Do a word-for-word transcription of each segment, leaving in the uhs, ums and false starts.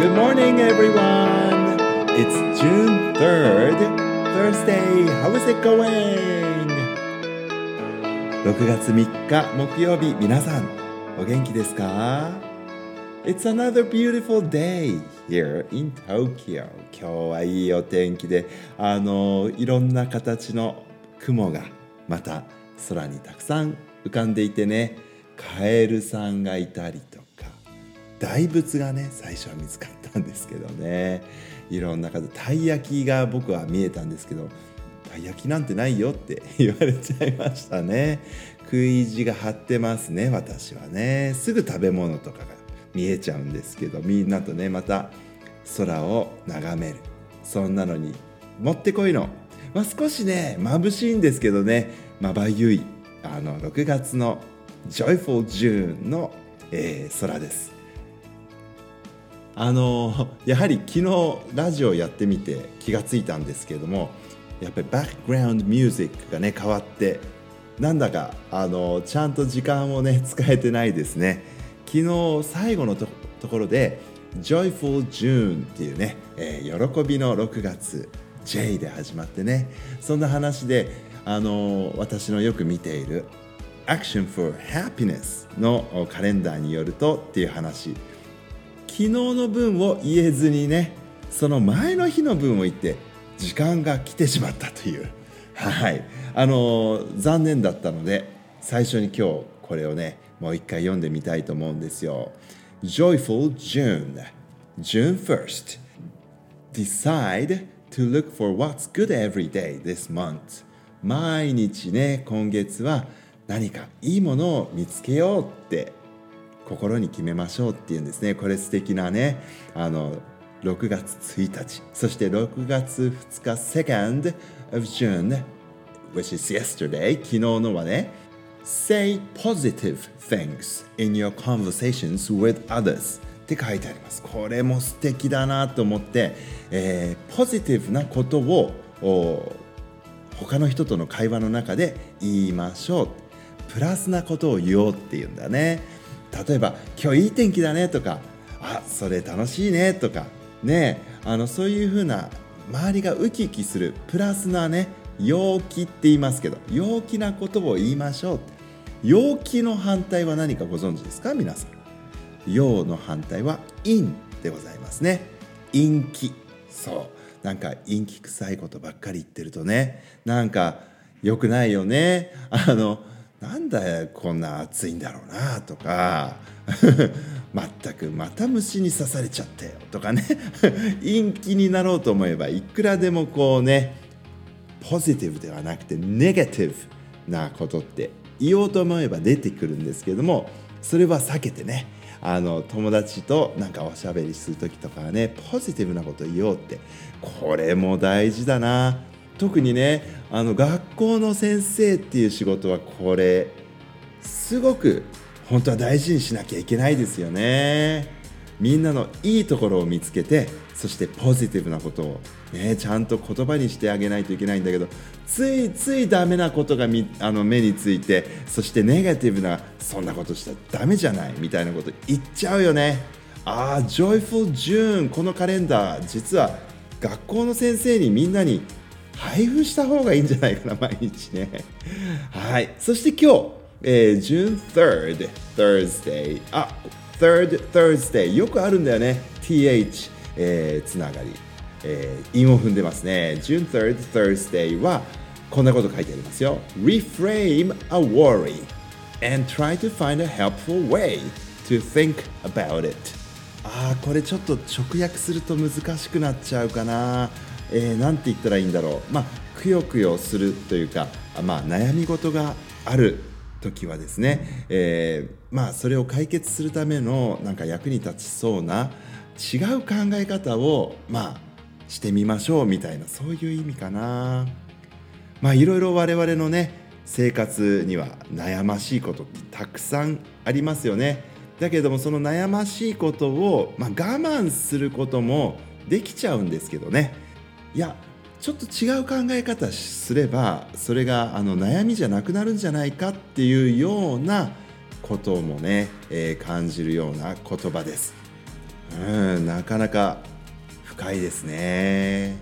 Good morning, everyone. It's June third, Thursday. How is it going? ろくがつみっか木曜日、皆さんお元気ですか？ It's another beautiful day here in Tokyo. 今日はいいお天気で、あのいろんな形の雲がまた空にたくさん浮かんでいてね、カエルさんがいたりとか、大仏がね最初は見つかったんですけどね、いろんな方、たい焼きが僕は見えたんですけど、たい焼きなんてないよって言われちゃいましたね。食い意地が張ってますね、私はね。すぐ食べ物とかが見えちゃうんですけど、みんなとねまた空を眺める、そんなのにもってこいの、まあ、少しね眩しいんですけどね、まばゆいあのろくがつの Joyful June の、えー、空です。あのやはり昨日ラジオやってみて気がついたんですけれども、やっぱりバックグラウンドミュージックがね変わって、なんだかあのちゃんと時間をね使えてないですね。昨日最後の と, ところで Joyful June っていうね、えー、喜びのろくがつ J で始まってね、そんな話であの私のよく見ている Action for Happiness のカレンダーによるとっていう話、昨日の分を言えずにね、その前の日の分を言って時間が来てしまったという、はい、あの残念だったので、最初に今日これをねもう一回読んでみたいと思うんですよ。 Joyful June June first Decide to look for what's good every day this month。 毎日ね今月は何かいいものを見つけようって心に決めましょうっていうんですね。これ素敵なね、あのろくがつついたち、そしてろくがつふつか second of June which is yesterday、 昨日のはね Say positive things in your conversations with others って書いてあります。これも素敵だなと思って、えー、ポジティブなことを他の人との会話の中で言いましょう、プラスなことを言おうっていうんだね。例えば今日いい天気だねとか、あ、それ楽しいねとかね、あのそういう風な周りがウキウキするプラスなね、陽気って言いますけど、陽気なことを言いましょう。陽気の反対は何かご存知ですか皆さん？陽の反対は陰でございますね。陰気、そう、なんか陰気臭いことばっかり言ってるとね、なんか良くないよね。あのなんだよこんな暑いんだろうなとかまったくまた虫に刺されちゃったよとかね陰気になろうと思えばいくらでもこうね、ポジティブではなくてネガティブなことって言おうと思えば出てくるんですけれども、それは避けてね、あの友達となんかおしゃべりする時とかはね、ポジティブなことを言おうって、これも大事だな。特にね、あの学校の先生っていう仕事はこれすごく本当は大事にしなきゃいけないですよね。みんなのいいところを見つけて、そしてポジティブなことを、ね、ちゃんと言葉にしてあげないといけないんだけど、ついついダメなことがみあの目について、そしてネガティブなそんなことしたらダメじゃないみたいなこと言っちゃうよね。ああ、Joyful June このカレンダー、実は学校の先生にみんなに配布した方がいいんじゃないかな、毎日ね。はい。そして今日、えー、June third Thursday、あ、third Thursday よくあるんだよね。th、えー、つながり、えー、韻を踏んでますね。June third Thursday はこんなこと書いてありますよ。Reframe a worry and try to find a helpful way to think about it。あー、これちょっと直訳すると難しくなっちゃうかな。えー、なんて言ったらいいんだろう。まあ、くよくよするというか、まあ、悩み事がある時はですね、えー、まあそれを解決するためのなんか役に立ちそうな違う考え方をまあしてみましょうみたいな、そういう意味かな。まあいろいろ我々のね生活には悩ましいことってたくさんありますよね。だけどもその悩ましいことを、まあ、我慢することもできちゃうんですけどね、いやちょっと違う考え方すればそれがあの悩みじゃなくなるんじゃないかっていうようなこともね、えー、感じるような言葉です。 うん、なかなか深いですね。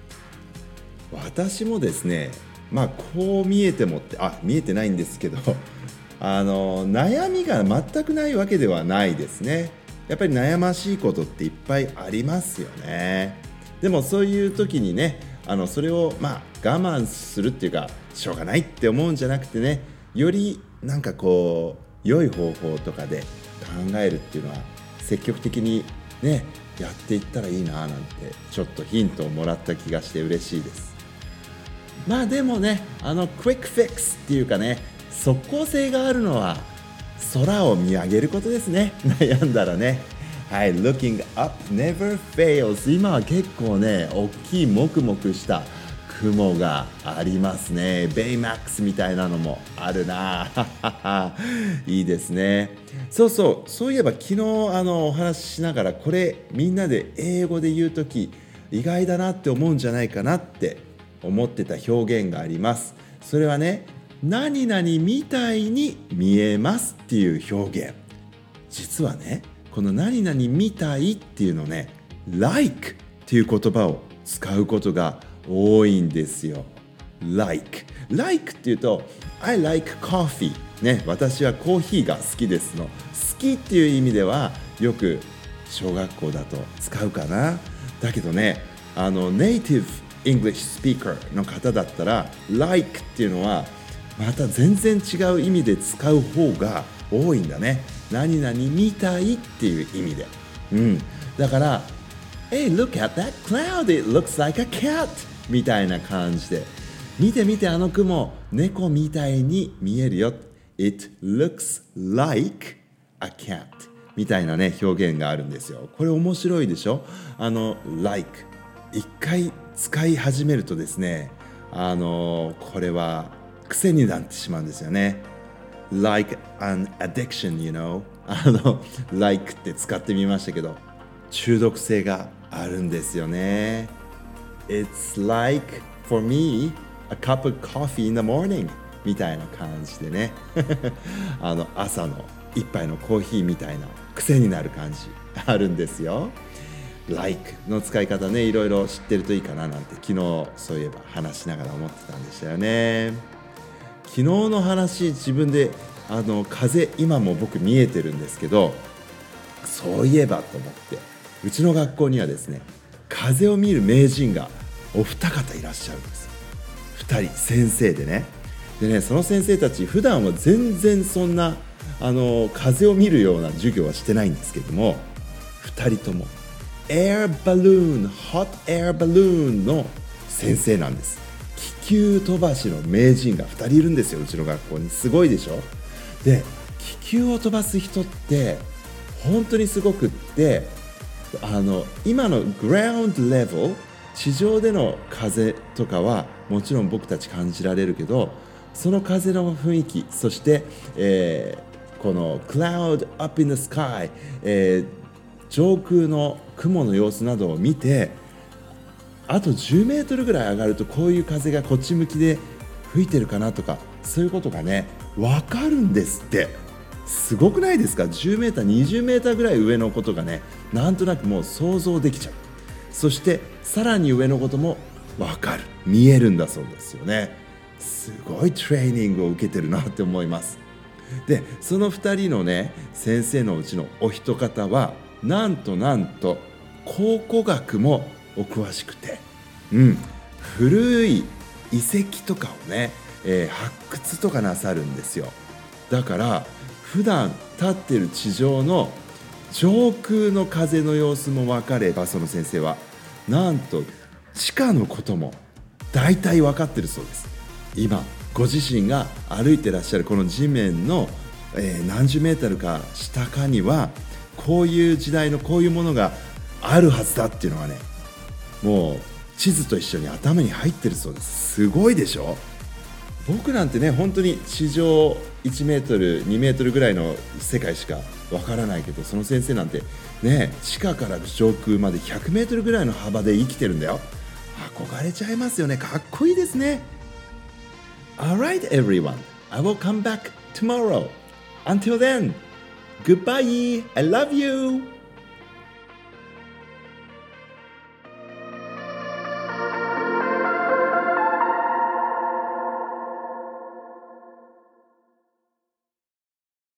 私もですね、まあこう見えてもってあ見えてないんですけどあの悩みが全くないわけではないですね。やっぱり悩ましいことっていっぱいありますよね。でもそういう時にね、あのそれをまあ我慢するっていうかしょうがないって思うんじゃなくてね、よりなんかこう良い方法とかで考えるっていうのは積極的にねやっていったらいいななんてちょっとヒントをもらった気がして嬉しいです。まあでもね、あのクイックフィックスっていうかね、即効性があるのは空を見上げることですね。悩んだらね。はい、Looking up never fails。 今は結構ね大きいもくもくした雲がありますね。ベイマックスみたいなのもあるな。いいですね。そうそう、そういえば昨日あのお話ししながら、これみんなで英語で言うとき意外だなって思うんじゃないかなって思ってた表現があります。それはね、何々みたいに見えますっていう表現。実はね、この何々みたいっていうのね、like っていう言葉を使うことが多いんですよ。like like っていうと I like coffee ね、私はコーヒーが好きですの好きっていう意味ではよく小学校だと使うかな。だけどね、あのネイティブ English speaker の方だったら like っていうのはまた全然違う意味で使う方が多いんだね。何々みたいっていう意味で、うん、だからHey, look at that cloud. It looks like a cat. みたいな感じで、見て見てあの雲、猫みたいに見えるよ。It looks like a cat. みたいなね、表現があるんですよ。これ面白いでしょ？あの、like。一回使い始めるとですね、あの、これは癖になってしまうんですよね。Like an addiction, you know. あの、like って使ってみましたけど、中毒性があるんですよね。It's like for me a cup of coffee in the morning みたいな感じでねあの朝の一杯のコーヒーみたいな癖になる感じあるんですよ。like の使い方ね、いろいろ知ってるといいかななんて昨日そういえば話しながら思ってたんでしたよね。昨日の話、自分であの風今も僕見えてるんですけど、そういえばと思ってうちの学校にはですね、風を見る名人がお二方いらっしゃるんです。二人先生でね。でね、その先生たち普段は全然そんなあの風を見るような授業はしてないんですけども、二人ともエアバルーン、ホットエアバルーンの先生なんです。気球飛ばしの名人がふたりいるんですよ、うちの学校に。すごいでしょ。で、気球を飛ばす人って本当にすごくって、あの今のグラウンドレベル、地上での風とかはもちろん僕たち感じられるけど、その風の雰囲気、そして、えー、この cloud up in the sky、えー、上空の雲の様子などを見て、あとじゅうメートルぐらい上がるとこういう風がこっち向きで吹いてるかなとか、そういうことがね分かるんですって。すごくないですか？じゅうメーター、にじゅうメーターぐらい上のことがね、なんとなくもう想像できちゃう。そしてさらに上のことも分かる、見えるんだそうですよね。すごいトレーニングを受けてるなって思います。で、そのふたりのね先生のうちのお一方はなんとなんと考古学もお詳しくて、うん、古い遺跡とかをね、えー、発掘とかなさるんですよ。だから普段立ってる地上の上空の風の様子も分かれば、その先生はなんと地下のことも大体分かってるそうです。今ご自身が歩いてらっしゃるこの地面の、えー、何十メートルか下かにはこういう時代のこういうものがあるはずだっていうのがね、もう地図と一緒に頭に入ってるそうです。すごいでしょ。僕なんてね、本当に地上いちメートルにメートルぐらいの世界しかわからないけど、その先生なんてね、地下から上空までひゃくメートルぐらいの幅で生きてるんだよ。憧れちゃいますよね。かっこいいですね。 Alright everyone, I will come back tomorrow. Until then, goodbye. I love you.